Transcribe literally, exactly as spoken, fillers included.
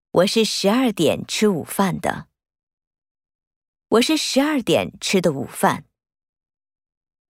我是十二点吃午饭的。我是十二点吃的午饭。